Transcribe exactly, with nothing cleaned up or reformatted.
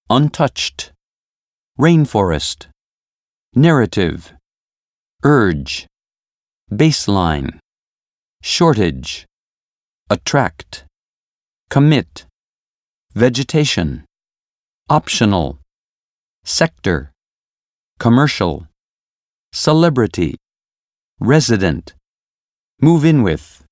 untouched, rainforest, narrative, urge, baseline, shortage, attract, commit, vegetation, optional, sector, commercial, celebrity, resident, move in with,